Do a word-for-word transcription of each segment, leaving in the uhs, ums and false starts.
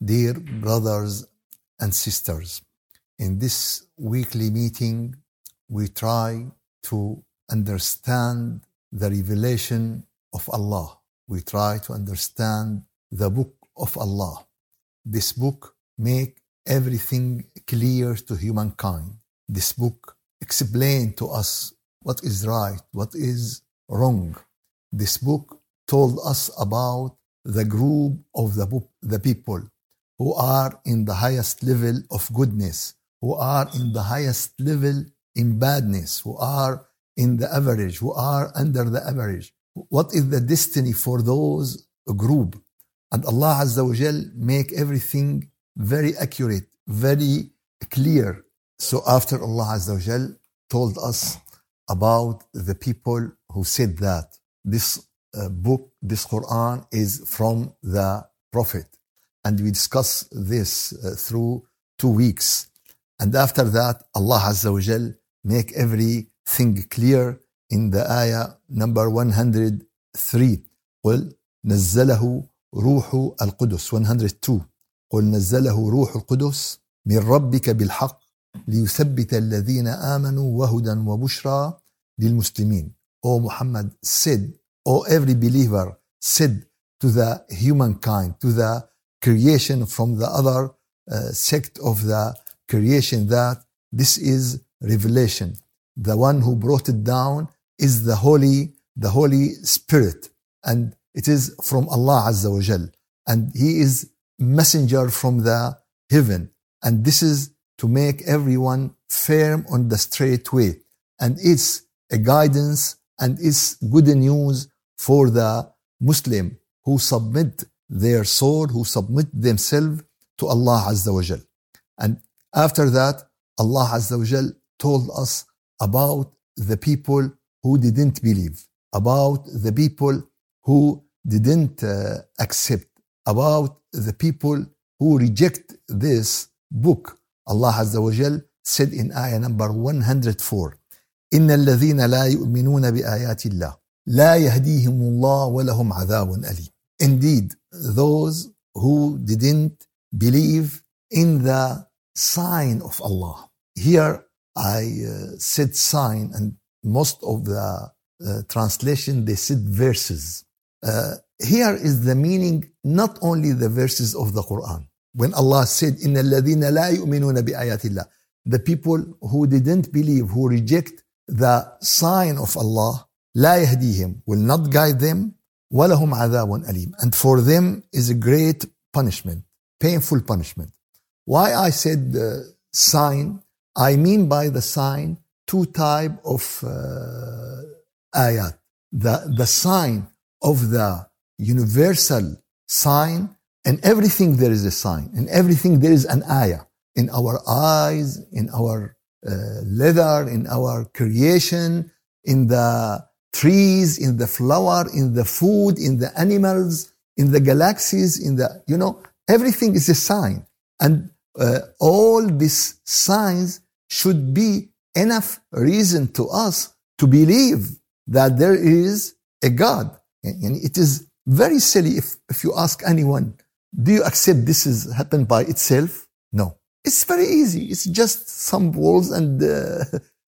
Dear brothers and sisters, in this weekly meeting, we try to understand the revelation of Allah. We try to understand the book of Allah. This book make everything clear to humankind. This book explain to us what is right, what is wrong. This book told us about the group of the, book, the people who are in the highest level of goodness, who are in the highest level in badness, who are in the average, who are under the average. What is the destiny for those group? And Allah Azza wa Jal make everything very accurate, very clear. So after Allah Azza wa Jal told us about the people who said that this uh, book, this Quran is from the Prophet. And we discuss this uh, through two weeks. And after that, Allah Azza wa Jal make everything clear in the ayah number one hundred three. قل نزله روح القدس one hundred two. قل نزله روح القدس من ربك بالحق ليثبت الذين آمنوا وهدى وبشرى للمسلمين. O Muhammad said, O every believer said to the humankind, to the creation from the other uh, sect of the creation, that this is revelation. The one who brought it down is the Holy, the Holy Spirit, and it is from Allah Azza wa Jal, and He is messenger from the heaven, and this is to make everyone firm on the straight way, and it's a guidance and it's good news for the Muslim who submit their soul, who submit themselves to Allah Azza wa Jal. And after that, Allah Azza wa Jal told us about the people who didn't believe, about the people who didn't uh, accept, about the people who reject this book. Allah Azza wa Jal said in ayah number one hundred four, إن الذين لا يؤمنون بآيات الله لا يهديهم الله ولهم عذاب أليم. Indeed, those who didn't believe in the sign of Allah. Here I uh, said sign, and most of the uh, translation they said verses. Uh, here is the meaning, not only the verses of the Quran. When Allah said, إن الذين لا يؤمنون بآيات الله, the people who didn't believe, who reject the sign of Allah, لا يهديهم, will not guide them, وَلَهُمْ عَذَابٌ أَلِيمٌ, and for them is a great punishment, painful punishment. Why I said uh, sign, I mean by the sign two type of uh, ayat. The, the sign of the universal sign, and everything there is a sign, in everything there is an ayah, in our eyes, in our uh, leather, in our creation, in the trees, in the flower, in the food, in the animals, in the galaxies, in the, you know, everything is a sign. And uh, all these signs should be enough reason to us to believe that there is a God. And it is very silly if, if you ask anyone, do you accept this has happened by itself? No. It's very easy. It's just some walls and uh,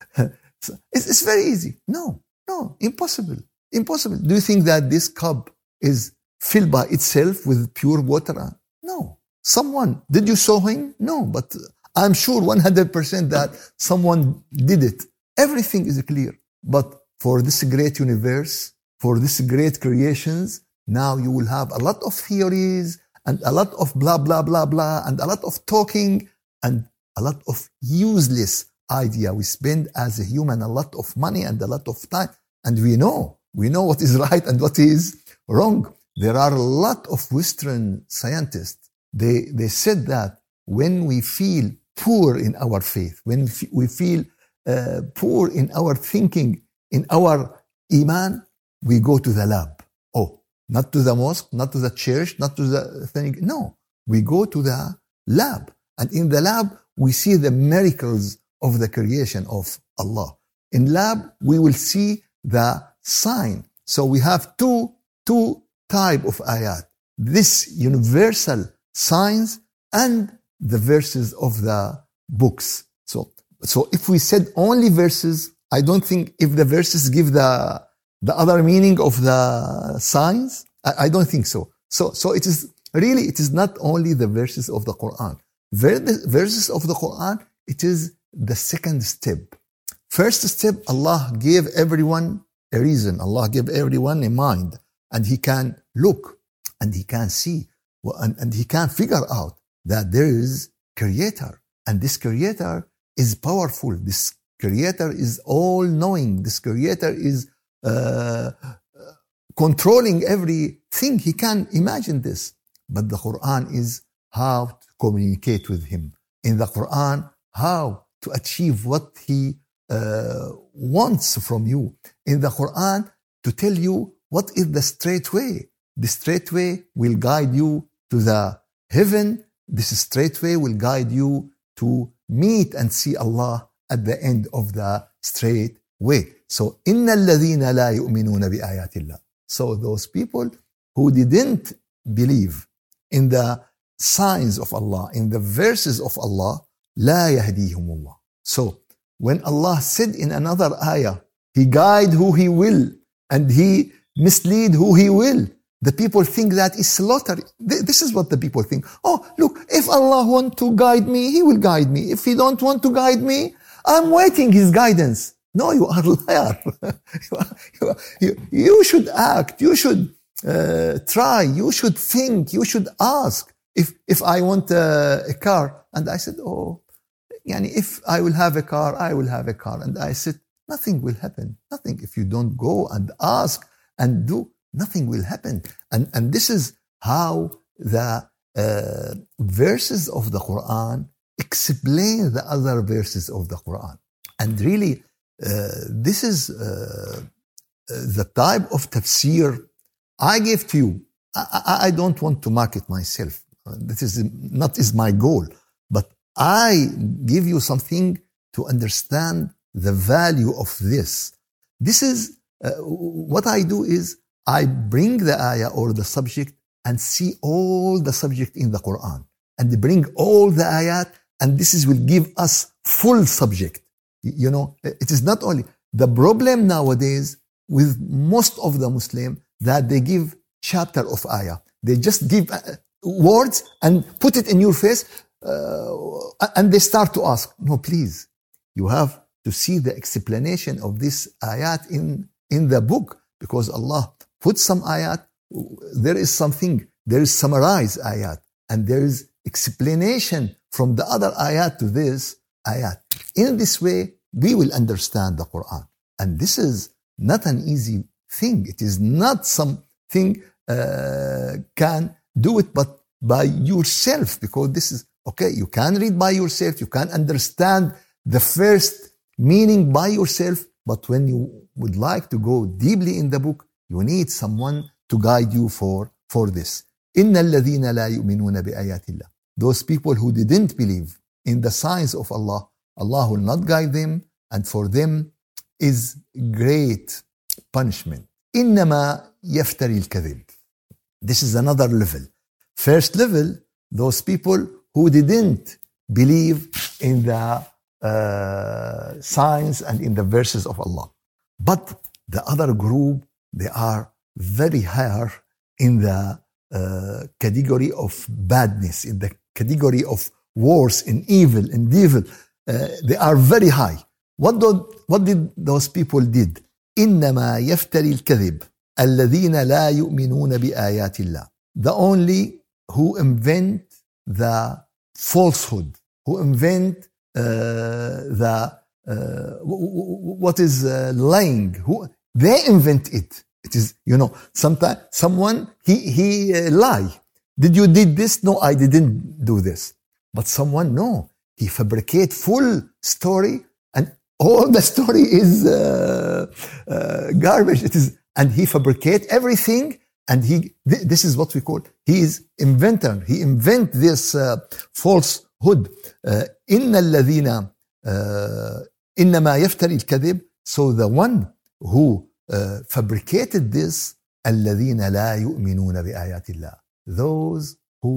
it's, it's very easy. No. No, impossible. Impossible. Do you think that this cup is filled by itself with pure water? No. Someone, did you saw him? No, but I'm sure one hundred percent that someone did it. Everything is clear. But for this great universe, for this great creations, now you will have a lot of theories and a lot of blah, blah, blah, blah, and a lot of talking and a lot of useless idea. We spend as a human a lot of money and a lot of time, and we know we know what is right and what is wrong. There are a lot of Western scientists, they they said that when we feel poor in our faith, when we feel uh, poor in our thinking, in our iman, we go to the lab. Oh, not to the mosque, not to the church, not to the thing. No, we go to the lab, and in the lab we see the miracles of the creation of Allah. In lab, we will see the sign. So we have two, two type of ayat. This universal signs and the verses of the books. So, so if we said only verses, I don't think if the verses give the, the other meaning of the signs, I, I don't think so. So, so it is really, it is not only the verses of the Quran. Ver- verses of the Quran, it is the second step. First step, Allah gave everyone a reason. Allah gave everyone a mind, and he can look and he can see and, and he can figure out that there is creator, and this creator is powerful. This creator is all knowing. This creator is uh, controlling everything. He can imagine this. But the Quran is how to communicate with him. In the Quran, how to achieve what he uh, wants from you. In the Quran, to tell you what is the straight way. The straight way will guide you to the heaven. This straight way will guide you to meet and see Allah at the end of the straight way. So, إِنَّ الَّذِينَ لَا يُؤْمِنُونَ بِآيَاتِ اللَّهِ. So those people who didn't believe in the signs of Allah, in the verses of Allah, لَا يَهْدِيهُمُ اللَّهِ. So when Allah said in another ayah, He guide who He will and He mislead who He will, the people think that is slaughter. This is what the people think. Oh, look, if Allah want to guide me, He will guide me. If He don't want to guide me, I'm waiting His guidance. No, you are a liar. you, you, you should act. You should uh, try. You should think. You should ask. If if I want a, a car, and I said, oh, yani if I will have a car, I will have a car. And I said, nothing will happen. Nothing. If you don't go and ask and do, nothing will happen. And, and this is how the uh, verses of the Quran explain the other verses of the Quran. And really, uh, this is uh, the type of tafsir I give to you. I, I, I don't want to market myself. This is not is my goal. But I give you something to understand the value of this. This is, uh, what I do is, I bring the ayah or the subject and see all the subject in the Quran and bring all the ayat, and this is will give us full subject. You know, it is not only the problem nowadays with most of the Muslim that they give chapter of ayah. They just give words and put it in your face, uh, and they start to ask. No, please, you have to see the explanation of this ayat in, in the book, because Allah put some ayat, there is something, there is summarized ayat, and there is explanation from the other ayat to this ayat. In this way, we will understand the Quran. And this is not an easy thing. It is not something uh, can do it but by yourself, because this is, okay, you can read by yourself, you can understand the first meaning by yourself, but when you would like to go deeply in the book, you need someone to guide you for, for this. إِنَّ الَّذِينَ لَا يُؤْمِنُونَ بِآيَاتِ اللَّهِ. Those people who didn't believe in the signs of Allah, Allah will not guide them, and for them is great punishment. إِنَّمَا يَفْتَرِي الْكَذِبِ. This is another level. First level, those people who didn't believe in the uh, signs and in the verses of Allah. But the other group, they are very higher in the uh, category of badness, in the category of worse, in evil, in devil. Uh, they are very high. What did, what did those people did? إنما يفتري الكذب الذين لا يؤمنون بآيات الله. The only who invent the falsehood, who invent uh, the uh, what is uh, lying, who they invent it. It is, you know, sometimes someone he he uh, lie. Did you did this? No, I didn't do this. But someone, no, he fabricate full story, and all the story is uh, uh, garbage. It is, and he fabricate everything. And he, th- this is what we call, he is inventor. He invent this uh, falsehood. إِنَّ الَّذِينَ إِنَّمَا يَفْتَرِي الْكَذِبِ. So the one who uh, fabricated this, الَّذِينَ لَا يُؤْمِنُونَ بِآيَاتِ اللَّهِ. Those who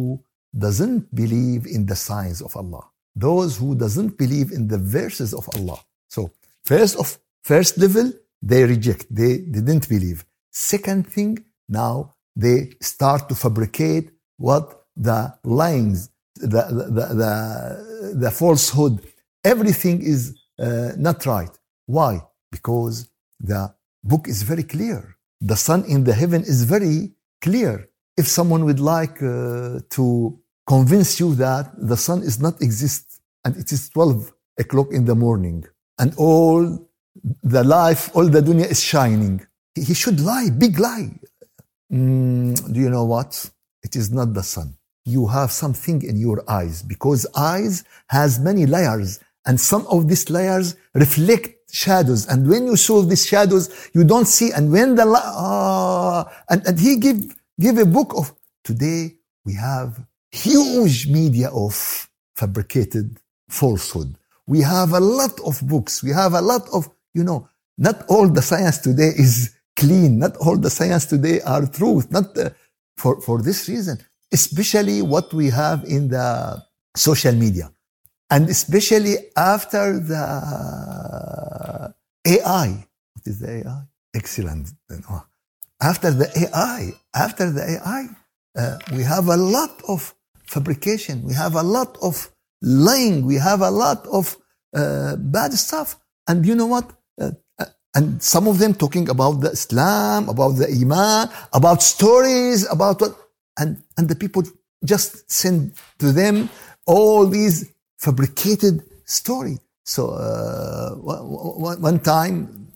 doesn't believe in the signs of Allah. Those who doesn't believe in the verses of Allah. So first of first level, they reject, they, they didn't believe. Second thing, now they start to fabricate what the lyings, the, the, the, the falsehood, everything is uh, not right. Why? Because the book is very clear. The sun in the heaven is very clear. If someone would like uh, to convince you that the sun is not exist and it is twelve o'clock in the morning and all the life, all the dunya is shining, he should lie, big lie. Mm, do you know what? It is not the sun. You have something in your eyes, because eyes has many layers, and some of these layers reflect shadows, and when you saw these shadows you don't see, and when the ah, and, and he give give a book of today. We have huge media of fabricated falsehood. We have a lot of books, we have a lot of, you know, not all the science today is clean, not all the science today are truth, not uh, for for this reason, especially what we have in the social media. And especially after the A I. What is the A I? Excellent. After the A I, after the A I, uh, we have a lot of fabrication. We have a lot of lying. We have a lot of uh, bad stuff. And you know what? Uh, and some of them talking about the Islam, about the Iman, about stories, about what. And, and the people just send to them all these fabricated story. So uh, one, one time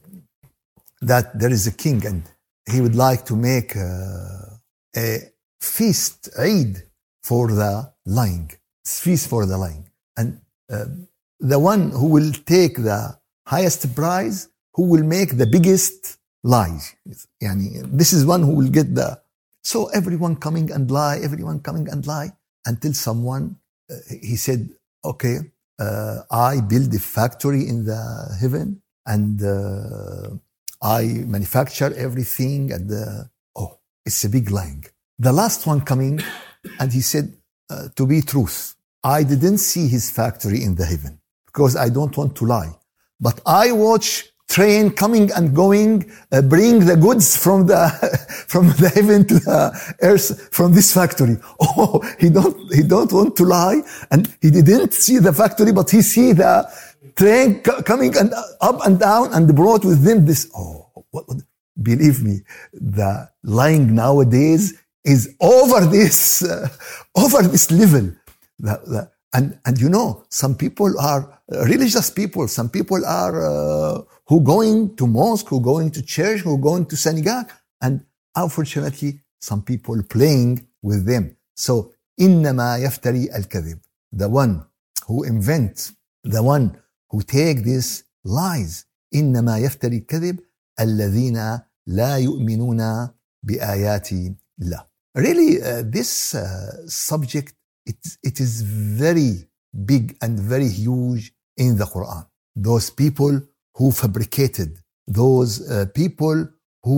that there is a king and he would like to make uh, a feast, Eid, for the lying, feast for the lying. And uh, the one who will take the highest prize, who will make the biggest lie. Yani, this is one who will get the... So everyone coming and lie, everyone coming and lie, until someone, uh, he said, okay, uh, I build a factory in the heaven and uh, I manufacture everything and uh, oh, it's a big lying. The last one coming and he said, uh, to be truth, I didn't see his factory in the heaven because I don't want to lie. But I watch train coming and going, uh, bring the goods from the from the heaven to the earth from this factory. Oh, he don't he don't want to lie, and he didn't see the factory, but he see the train co- coming and up and down, and brought with them this. Oh, what, what, believe me, the lying nowadays is over this uh, over this level. The, the, and and you know, some people are religious people. Some people are. Uh, who going to mosque, who going to church, who going to synagogue, and unfortunately, some people playing with them. So, إنما يفتري الكذب, the one who invent, the one who take these lies. إنما يفتري الكذب الذين لا يؤمنون بآيات الله. Really, uh, this uh, subject, it, it is very big and very huge in the Quran. Those people who fabricated, those uh, people who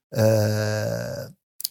uh,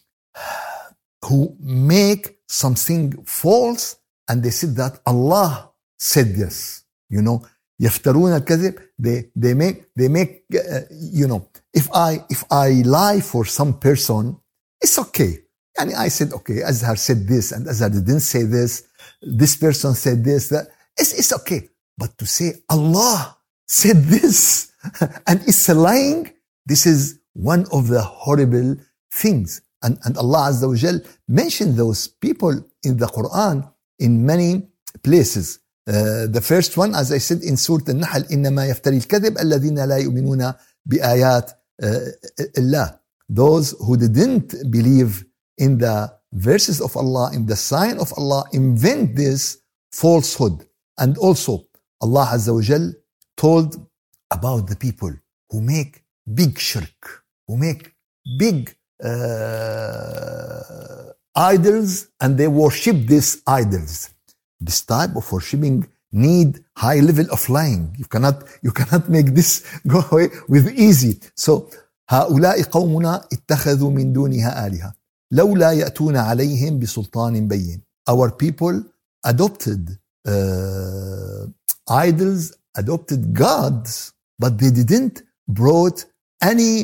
who make something false and they said that Allah said this. You know, يفترون الكذب. They they make they make uh, you know. If I if I lie for some person, it's okay. And I said okay. Azhar said this and Azhar didn't say this. This person said this. That it's it's okay. But to say Allah said this and it's a lying, this is one of the horrible things. And, and Allah Azza wa Jal mentioned those people in the Quran in many places. Uh, the first one, as I said in Surah Al-Nahl, إنما يفتري الكذب الذين لا يؤمنون بآيات الله. Those who didn't believe in the verses of Allah, in the sign of Allah, invent this falsehood. And also, Allah Azza wa Jal told about the people who make big shirk, who make big uh, idols, and they worship these idols. This type of worshiping need high level of lying. You cannot, you cannot make this go away with easy. So, هؤلاء قومنا اتخذوا من دونها آلهة لولا يأتون عليهم بسلطان بين. our people adopted uh, idols, adopted gods, but they didn't brought any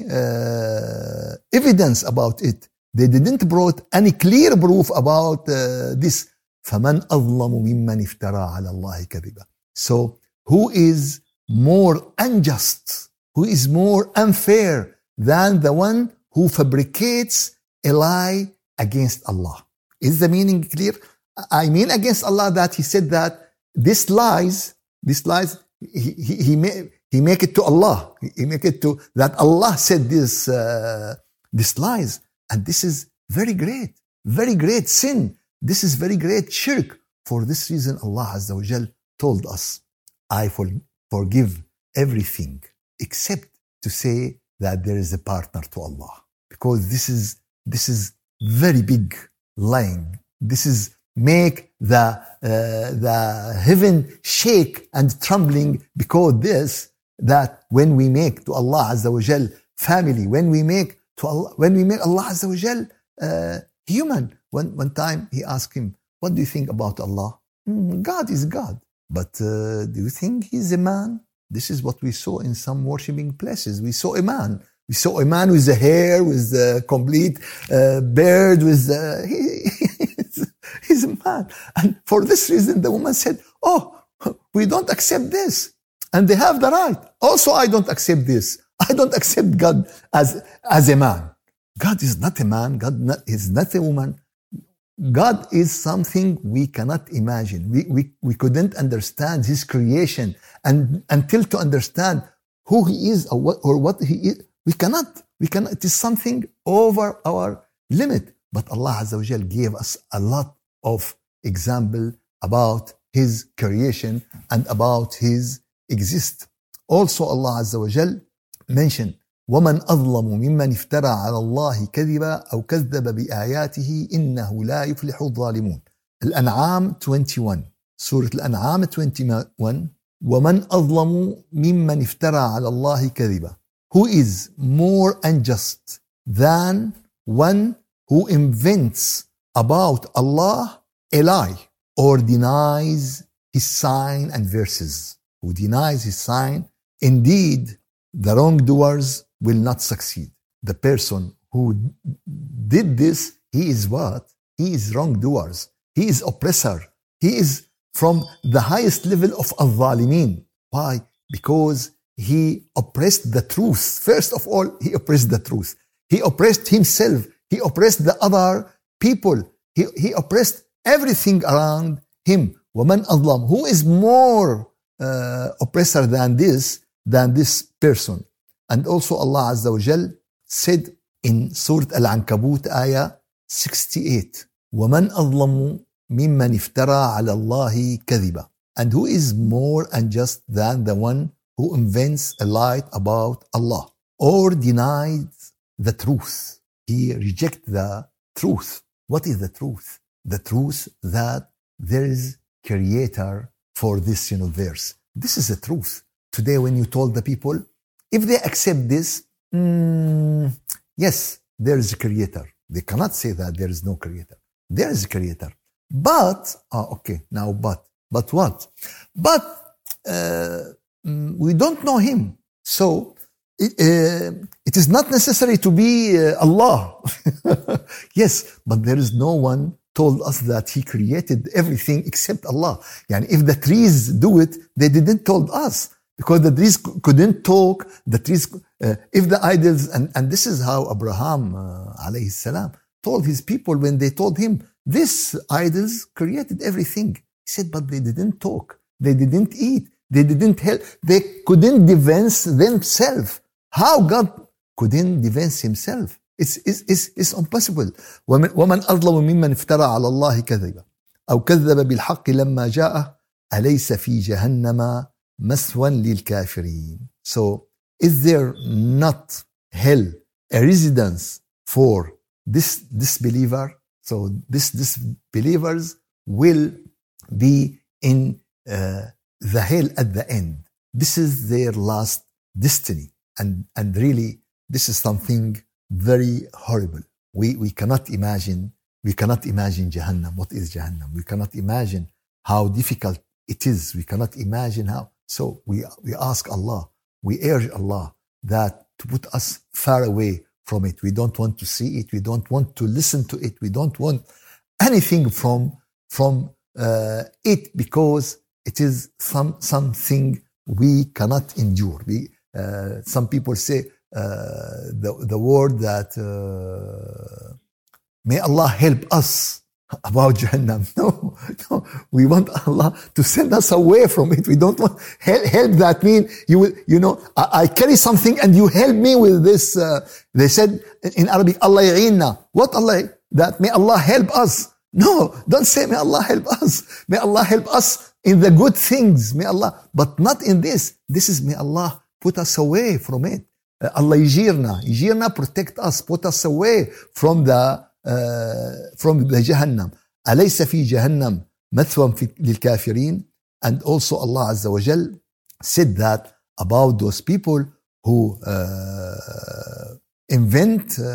uh, evidence about it. They didn't brought any clear proof about uh, this. فَمَنْ أَظْلَمُ مِمَّنِ افْتَرَى عَلَى اللَّهِ كَذِبًا. So who is more unjust, who is more unfair than the one who fabricates a lie against Allah? Is the meaning clear? I mean against Allah that he said that this lies, this lies, he, he, he, may, he make it to Allah. He make it to that Allah said this, uh, this lies. And this is very great, very great sin. This is very great shirk. For this reason, Allah Azza wa Jal told us, I for, forgive everything except to say that there is a partner to Allah. Because this is, this is very big lying. This is make the, uh, the heaven shake and trembling, because this, that when we make to Allah Azza wa Jal family, when we make to Allah, when we make Allah Azza wa Jal uh, human. One, one time he asked him, what do you think about Allah? Mm, God is God. But uh, do you think he's a man? This is what we saw in some worshipping places. We saw a man. We saw a man with the hair, with the complete uh, beard, with the... He, he's a man. And for this reason, the woman said, oh, we don't accept this. And they have the right. Also, I don't accept this. I don't accept God as, as a man. God is not a man. God not, is not a woman. God is something we cannot imagine. We, we, we couldn't understand his creation. And until to understand who he is or what, or what he is, we cannot. We cannot. It is something over our limit. But Allah Azza wa Jal gave us a lot of example about his creation and about his exist. Also Allah Azza wa Jal mentioned, وَمَنْ أَظْلَمُ مِمَّنِ افْتَرَى عَلَى اللَّهِ كَذِبًا أَوْ كَذَّبَ بِآيَاتِهِ إِنَّهُ لَا يُفْلِحُ الظَّالِمُونَ. الأنعام twenty-one. سورة الأنعام twenty-one. وَمَنْ أَظْلَمُ مِمَّنِ افْتَرَى عَلَى اللَّهِ كَذِبًا. Who is more unjust than one who invents about Allah a lie or denies his sign and verses? Who denies his sign? Indeed, the wrongdoers will not succeed. The person who did this, he is what? He is wrongdoers. He is oppressor. He is from the highest level of al-zalimin. Why? Because he oppressed the truth. First of all, he oppressed the truth. He oppressed himself. He oppressed the other people. He, he oppressed everything around him. وَمَنْ أَظْلَمُ. Who is more uh, oppressor than this? Than this person. And also Allah Azza wa Jal said in Surah Al-Ankabut ayah sixty-eight, وَمَنْ أَظْلَمُ مِمَّنِ افْتَرَى عَلَى اللَّهِ كَذِبًا. And who is more unjust than the one who invents a lie about Allah or denies the truth? He rejects the truth. What is the truth? The truth that there is creator for this universe. This is the truth. Today, when you told the people, if they accept this, mm, yes, there is a creator. They cannot say that there is no creator. There is a creator. But, ah, okay, now but. But what? But uh, we don't know him. So, it, uh, it is not necessary to be uh, Allah. Yes, but there is no one told us that he created everything except Allah. Yani if the trees do it, they didn't told us. Because the trees couldn't talk, the trees, uh, if the idols, and, and this is how Abraham, uh, alayhi salam, told his people when they told him, these idols created everything. He said, but they didn't talk, they didn't eat, they didn't help, they couldn't defense themselves. How God couldn't defense himself? It's, it's, it's, it's impossible. وَمَنْ أَظْلَمُ مِمَّنْ افْتَرَى عَلَى اللَّهِ كَذِبًا أَوْ كَذَّبَ بِالْحَقِّ لَمَّا جَاءَهُ أَلَيْسَ فِي جَهَنَّمَ مسوى للكافرين. So, is there not hell a residence for this disbeliever? So, this disbelievers will be in uh, the hell at the end. This is their last destiny. And, and really, this is something very horrible. We, we cannot imagine. We we cannot imagine Jahannam. What is Jahannam? We cannot imagine how difficult it is. We cannot imagine how. So we, we ask Allah, we urge Allah that to put us far away from it. We don't want to see it. We don't want to listen to it. We don't want anything from, from uh, it, because it is some, something we cannot endure. We, uh, some people say uh, the, the word that uh, may Allah help us about Jahannam. No, no, we want Allah to send us away from it. We don't want help. Help that mean you will, you know, I, I carry something and you help me with this. Uh, they said in Arabic, Allah ya'inna. What Allah? That may Allah help us. No, don't say may Allah help us. May Allah help us in the good things. May Allah, but not in this. This is may Allah put us away from it. Uh, Allah yijirna, yijirna, protect us, put us away from the Uh, from the Jahannam. أليس في جهنم مثوى للكافرين? And also Allah Azza wa Jal said that about those people who uh, invent uh,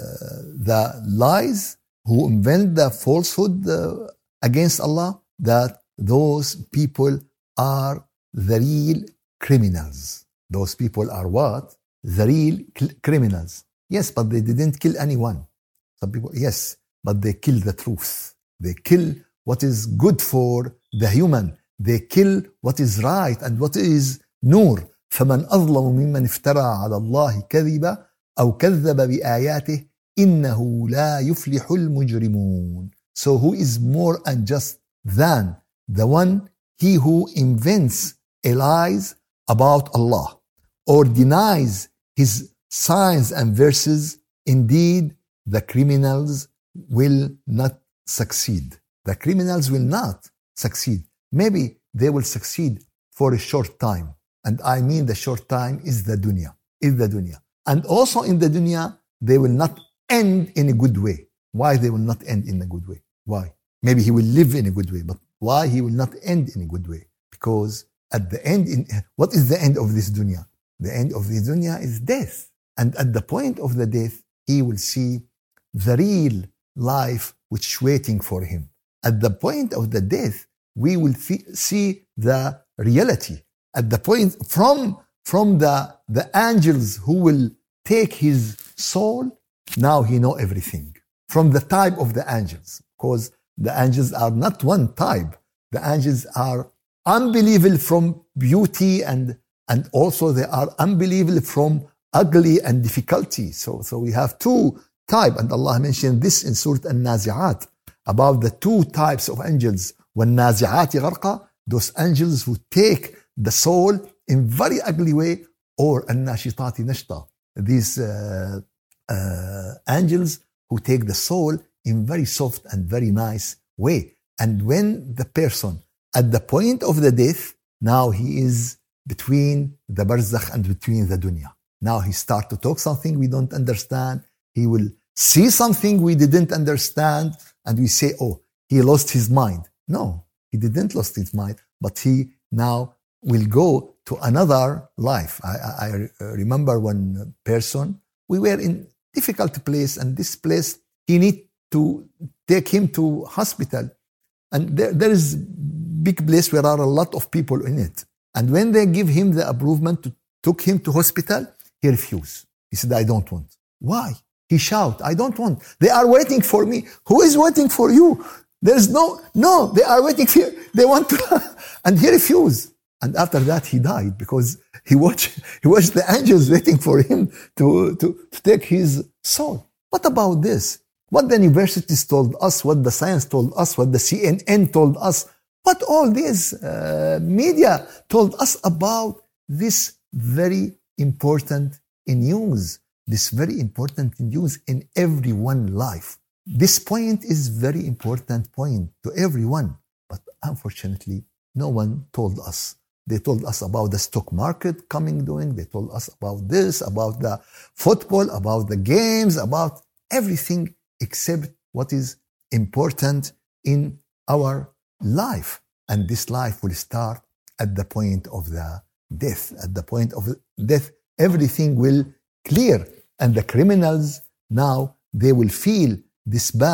the lies, who invent the falsehood uh, against Allah, that those people are the real criminals. Those people are what? The real criminals. Yes, but they didn't kill anyone. Some people, yes, but they kill the truth. They kill what is good for the human. They kill what is right and what is نور. فمن أظلم ممن افترى على الله كذبا أو كذب بآياته إنه لا يفلح المجرمون. So who is more unjust than the one, he who invents a lies about Allah or denies his signs and verses? Indeed, the criminals will not succeed. The criminals will not succeed. Maybe they will succeed for a short time. And I mean the short time is the dunya. Is the dunya. And also in the dunya, they will not end in a good way. Why they will not end in a good way? Why? Maybe he will live in a good way, but why he will not end in a good way? Because at the end, in, what is the end of this dunya? The end of this dunya is death. And at the point of the death, he will see the real life which is waiting for him. At the point of the death, we will see the reality. At the point from, from the, the angels who will take his soul, now he know everything. From the type of the angels, because the angels are not one type. The angels are unbelievable from beauty, and, and also they are unbelievable from ugly and difficulty. So, so we have two type, and Allah mentioned this in Surah An-Nazi'at about the two types of angels. وَالنَّازِعَاتِ غَرْقًا, those angels who take the soul in very ugly way, or النَّاشِطَاتِ نَشْطًا, these uh, uh, angels who take the soul in very soft and very nice way. And when the person at the point of the death, now he is between the barzakh and between the dunya. Now he start to talk something we don't understand. He will see something we didn't understand, and we say, oh, he lost his mind. No, he didn't lose his mind, but he now will go to another life. I, I, I remember one person, we were in difficult place, and this place, he need to take him to hospital. And there, there is big place where there are a lot of people in it. And when they give him the approval to took him to hospital, he refused. He said, I don't want. Why? He shout, I don't want. They are waiting for me. Who is waiting for you? There's no, no, they are waiting for you. They want to, and he refused. And after that, he died because he watched, he watched the angels waiting for him to, to, to take his soul. What about this? What the universities told us, what the science told us, what the C N N told us, what all these uh, media told us about this very important news. This very important news in everyone's life. This point is very important point to everyone. But unfortunately, no one told us. They told us about the stock market coming doing. They told us about this, about the football, about the games, about everything except what is important in our life. And this life will start at the point of the death. At the point of death, everything will clear. And the criminals now, they will feel this bad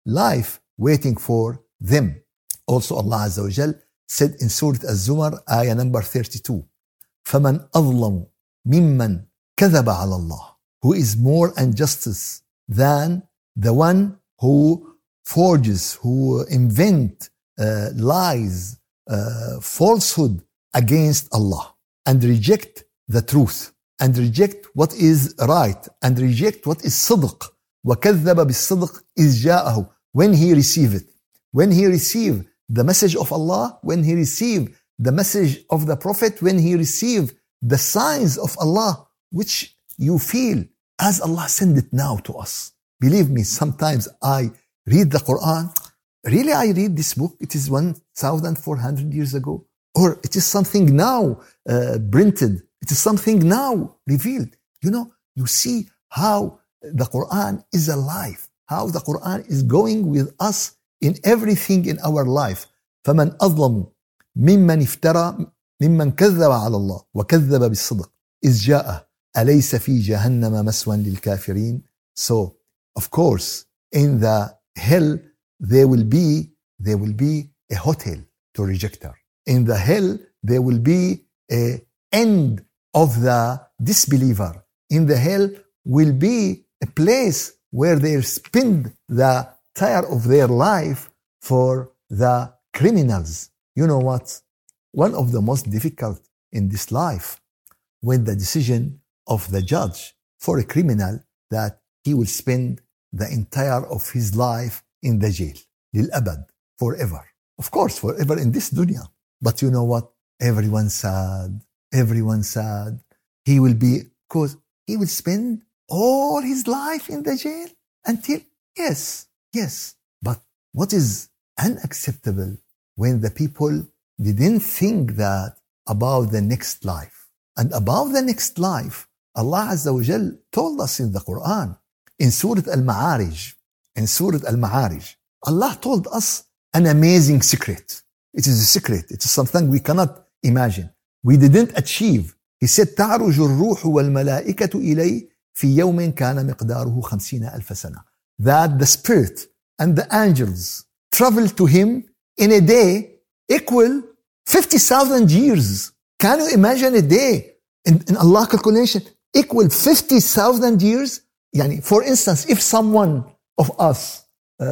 life waiting for them. Also Allah Azza wa Jal said in Surah Az-Zumar, ayah number thirty-two, فَمَنْ أَظْلَمُ مِمَّنْ كَذَبَ عَلَى اللَّهِ. Who is more injustice than the one who forges, who invent uh, lies, uh, falsehood against Allah, and reject the truth, and reject what is right, and reject what is صدق. وَكَذَّبَ بِالصِّدْقِ إِذْ جَاءَهُ. When he receive it, when he receive the message of Allah, when he receive the message of the Prophet, when he receive the signs of Allah, which you feel as Allah send it now to us. Believe me, sometimes I read the Quran. Really, I read this book. It is one thousand four hundred years ago. Or it is something now uh, printed. It is something now revealed. You know, you see how the Quran is alive, how the Quran is going with us in everything in our life. فَمَنْ أَظْلَمُ مِمَّنْ افترى ممن كذب على الله وكذب بالصدق إذ جاءه أليس في جهنم مسوى للكافرين. So, of course, in the hell there will be there will be a hotel to rejecter. In the hell there will be a end of the disbeliever. In the hell will be a place where they spend the tire of their life for the criminals. You know what? One of the most difficult in this life, when the decision of the judge for a criminal that he will spend the entire of his life in the jail, للأبد, forever. Of course, forever in this dunya. But you know what? Everyone sad, everyone sad. He will be, because he will spend all his life in the jail until, yes, yes. But what is unacceptable when the people didn't think that about the next life. And about the next life, Allah Azza wa Jal told us in the Quran, in Surah Al-Ma'arij, in Surah Al-Ma'arij, Allah told us an amazing secret. It is a secret. It is something we cannot imagine. We didn't achieve. He said, تَعْرُجُ الرُّوحُ وَالْمَلَائِكَةُ إِلَيْهِ فِي يَوْمٍ كَانَ مِقْدَارُهُ خَمْسِينَ أَلْفَ سَنَةٍ. That the spirit and the angels travel to him in a day equal fifty thousand years. Can you imagine a day in, in Allah calculation equal fifty thousand years? Yani, for instance, if someone of us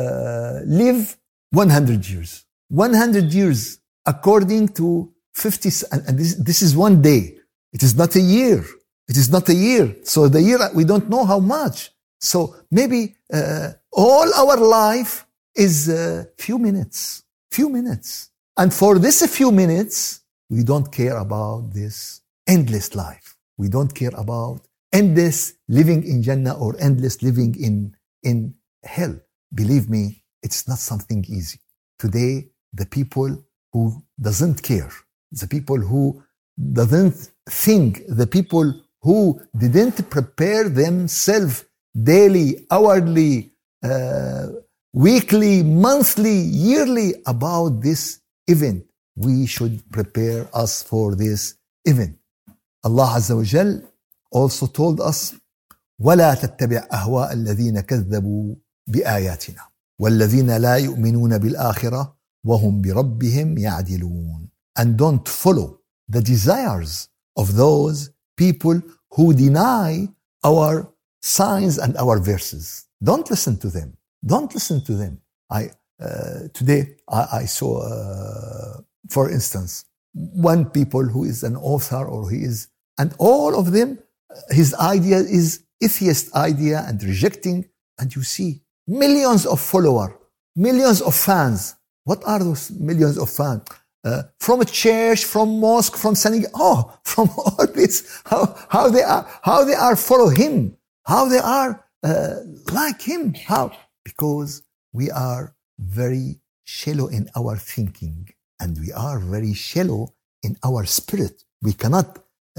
uh, live one hundred years, one hundred years according to fifty, and, and this, this is one day. It is not a year. It is not a year. So the year, we don't know how much. So maybe uh, all our life is a uh, few minutes, few minutes. And for this few minutes, we don't care about this endless life. We don't care about endless living in Jannah or endless living in, in hell. Believe me, it's not something easy. Today, the people who doesn't care, the people who doesn't think, the people who didn't prepare themselves daily, hourly, uh, weekly, monthly, yearly about this event. We should prepare us for this event. Allah Azza wa Jal also told us, وَلَا تَتَّبِعْ أَهْوَاءَ الَّذِينَ كَذَّبُوا بِآيَاتِنَا وَالَّذِينَ لَا يُؤْمِنُونَ بِالْآخِرَةِ وَهُمْ بِرَبِّهِمْ يَعْدِلُونَ. And don't follow the desires of those people who deny our signs and our verses. Don't listen to them. Don't listen to them. I uh, today I, I saw, uh, for instance, one people who is an author or he is, and all of them, his idea is atheist idea and rejecting. And you see millions of followers, millions of fans. What are those millions of fans? Uh, from a church, from mosque, from synagogue. Oh, from all this, how how they are, how they are follow him, how they are uh, like him. How? Because we are very shallow in our thinking, and we are very shallow in our spirit. We cannot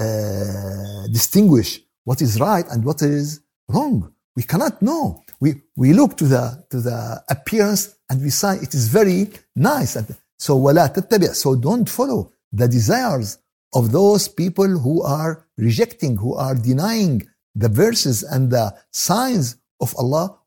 uh, distinguish what is right and what is wrong. We cannot know. We we look to the to the appearance and we say it is very nice. And so وَلَا تَتَّبِعْ. So don't follow the desires of those people who are rejecting, who are denying the verses and the signs of Allah.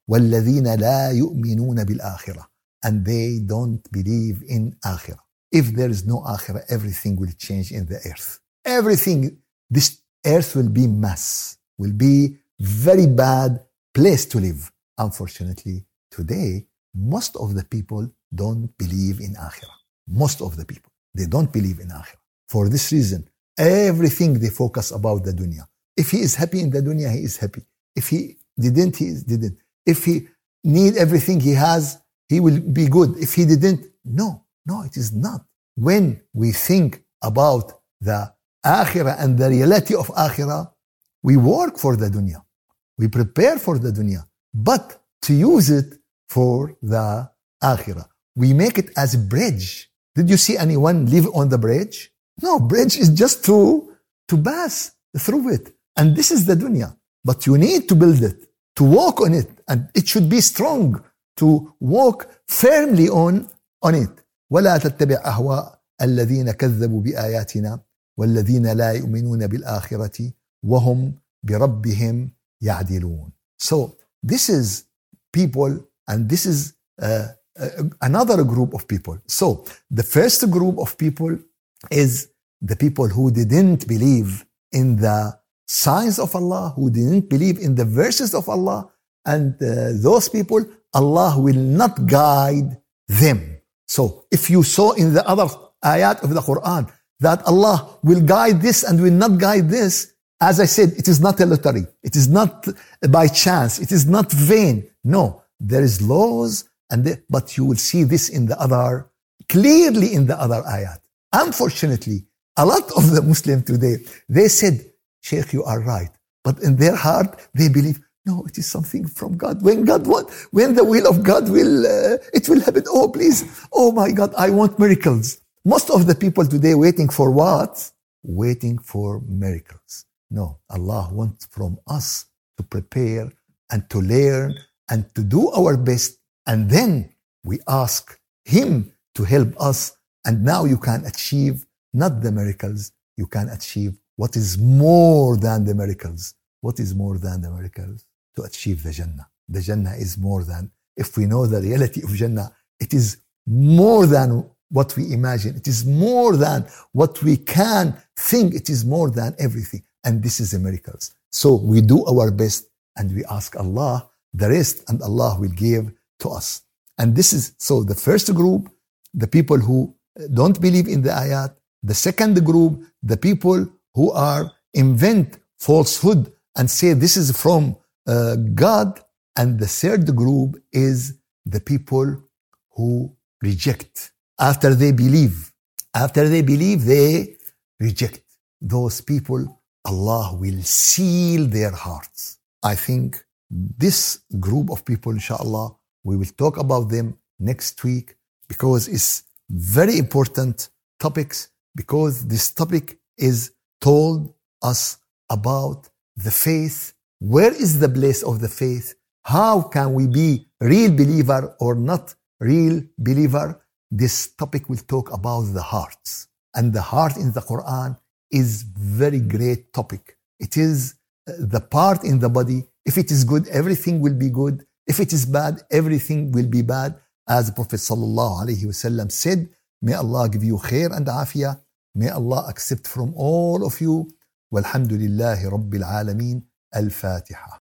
وَالَّذِينَ لَا يُؤْمِنُونَ بِالْآخِرَةِ, and they don't believe in akhirah. If there is no akhirah, everything will change in the earth. Everything, this earth will be mess, will be very bad place to live. Unfortunately, today, most of the people don't believe in akhirah. Most of the people, they don't believe in akhirah. For this reason, everything they focus about the dunya. If he is happy in the dunya, he is happy. If he didn't, he didn't. If he need everything he has, he will be good. If he didn't, no, no, it is not. When we think about the akhirah and the reality of akhirah, we work for the dunya. We prepare for the dunya, but to use it for the akhirah. We make it as a bridge. Did you see anyone live on the bridge? No, bridge is just to, to pass through it. And this is the dunya. But you need to build it, to walk on it. And it should be strong, to walk firmly on, on it. وَلَا تَتَّبِعْ أَهْوَاءَ الَّذِينَ كَذَّبُوا بِآيَاتِنَا وَالَّذِينَ لَا يُؤْمِنُونَ بِالْآخِرَةِ وَهُمْ بِرَبِّهِمْ يَعْدِلُونَ. So this is people, and this is uh, uh, another group of people. So the first group of people is the people who didn't believe in the signs of Allah, who didn't believe in the verses of Allah, and uh, those people, Allah will not guide them. So if you saw in the other ayat of the Quran that Allah will guide this and will not guide this, as I said, it is not a lottery. It is not by chance. It is not vain. No, there is laws, and the, but you will see this in the other, clearly in the other ayat. Unfortunately, a lot of the Muslims today, they said, Sheikh, you are right. But in their heart, they believe, no, it is something from God. When God want, when the will of God will, uh, it will happen. Oh, please. Oh my God, I want miracles. Most of the people today waiting for what? Waiting for miracles. No, Allah wants from us to prepare and to learn and to do our best. And then we ask Him to help us. And now you can achieve not the miracles, you can achieve what is more than the miracles. What is more than the miracles? To achieve the Jannah. The Jannah is more than, if we know the reality of Jannah, it is more than what we imagine. It is more than what we can think. It is more than everything. And this is the miracles. So we do our best and we ask Allah the rest, and Allah will give to us. And this is, so the first group, the people who don't believe in the ayat. The second group, the people who are invent falsehood and say this is from uh, God. And the third group is the people who reject. After they believe, after they believe, they reject. Those people, Allah will seal their hearts. I think this group of people, inshallah, we will talk about them next week, because it's very important topics, because this topic is told us about the faith. Where is the place of the faith? How can we be real believer or not real believer? This topic will talk about the hearts. And the heart in the Quran is very great topic. It is the part in the body. If it is good, everything will be good. If it is bad, everything will be bad. As the Prophet sallallahu alaihi wasallam said, may Allah give you khair and afiyah. May Allah accept from all of you. Walhamdulillahi Rabbil Alameen. Al-Fatiha.